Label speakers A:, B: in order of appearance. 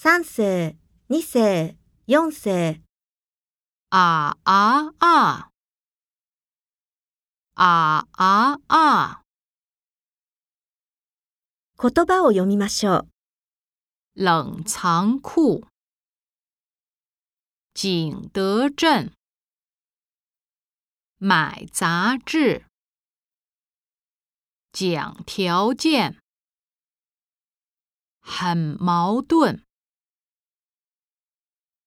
A: 3世、2世、4世。
B: 啊啊啊！啊啊啊！
A: 言葉を読みましょう。
B: 冷藏库，景德镇，买杂志，讲条件，很矛盾。